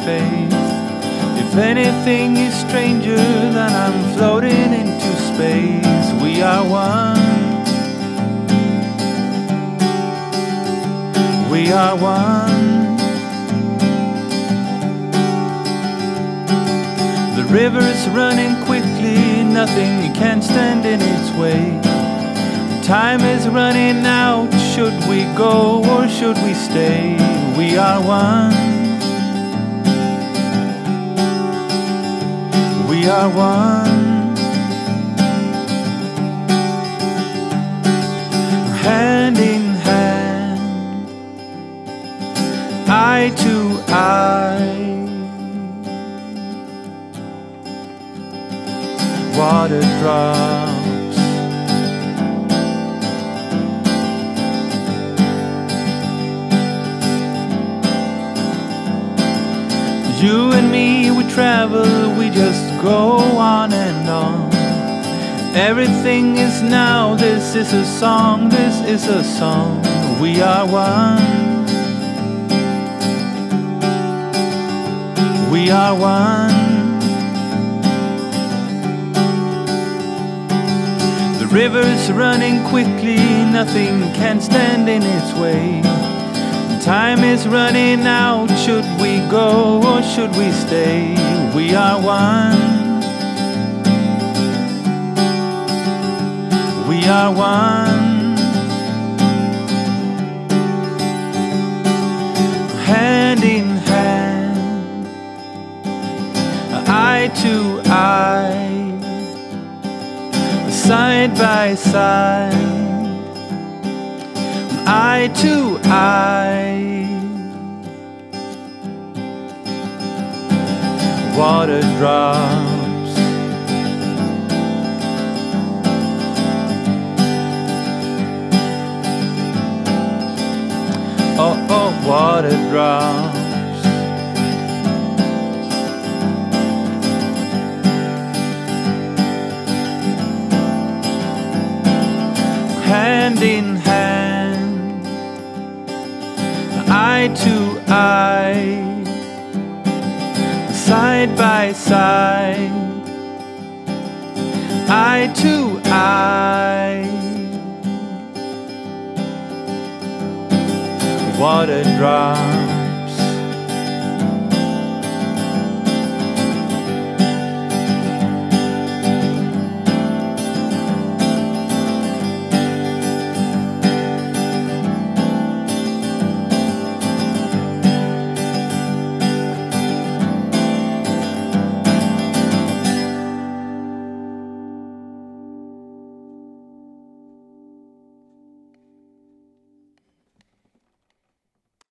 face. If anything is stranger than I'm floating into space, we are one. We are one. The river's running quickly, nothing can stand in its way. Time is running out, should we go or should we stay? We are one. We are one. Hand in hand, eye to eye. Water drops, you and me, we travel, we just go on and on. Everything is now, this is a song, this is a song. We are one. We are one. The river's running quickly, nothing can stand in its way. Time is running out, should we go or should we stay? We are one. We are one. Hand in hand, eye to eye, side by side, eye to eye. Water drops, oh, oh, water drops. Hand in hand, eye to eye, side by side, eye to eye. Water drops.